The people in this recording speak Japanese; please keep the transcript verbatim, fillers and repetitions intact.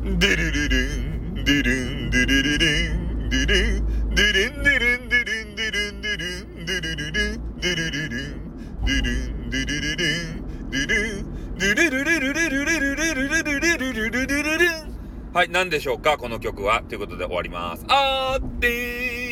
デルルルンデルンデルルルンデルンデルンデルンデルンデルンデルンデルンデルルルンデルルルンデルンデルルルンデルンデルルルルルルルルルルルルルルルルルン。はい、何でしょうかこの曲はということで終わります。あーってー